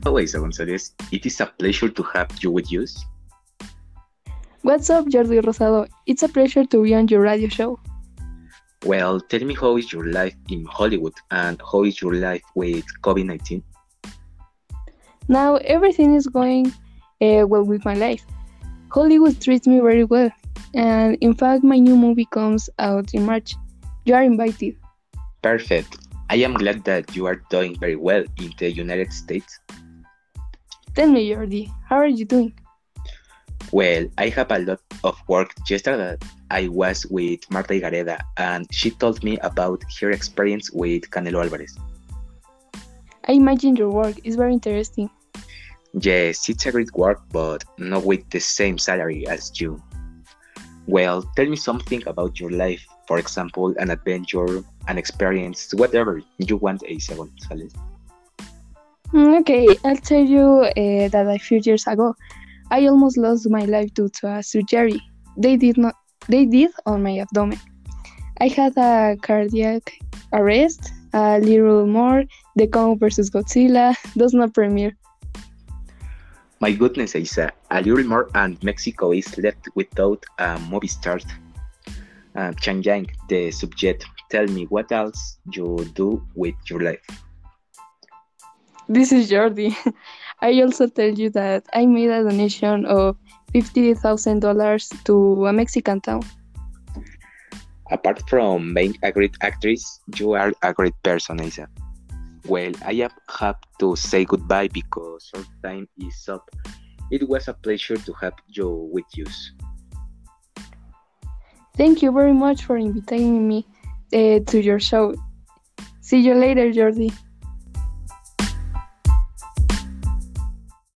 Hello, Isa Gonzalez. It is a pleasure to have you with us. What's up, Jordi Rosado? It's a pleasure to be on your radio show. Well, tell me how is your life in Hollywood and how is your life with COVID-19? Now, everything is going well with my life. Hollywood treats me very well, and in fact, my new movie comes out in March. You are invited. Perfect. I am glad that you are doing very well in the United States. Tell me, Jordi, how are you doing? Well, I have a lot of work. Yesterday, I was with Marta Igareda and she told me about her experience with Canelo Alvarez. I imagine your work is very interesting. Yes, it's a great work, but not with the same salary as you. Well, tell me something about your life. For example, an adventure, an experience, whatever you want, Asa Gonzalez. Okay, I'll tell you that a few years ago, I almost lost my life due to a surgery. They did not. They did on my abdomen. I had a cardiac arrest, a little more, The Kong vs. Godzilla does not premiere. My goodness, Asa, a little more and Mexico is left without a movie star. Chang Yang, the subject, tell me what else you do with your life. This is Jordi. I also tell you that I made a donation of $50,000 to a Mexican town. Apart from being a great actress, you are a great person, Asa. Well, have to say goodbye because our time is up. It was a pleasure to have you with us. Thank you very much for inviting me to your show. See you later, Jordi.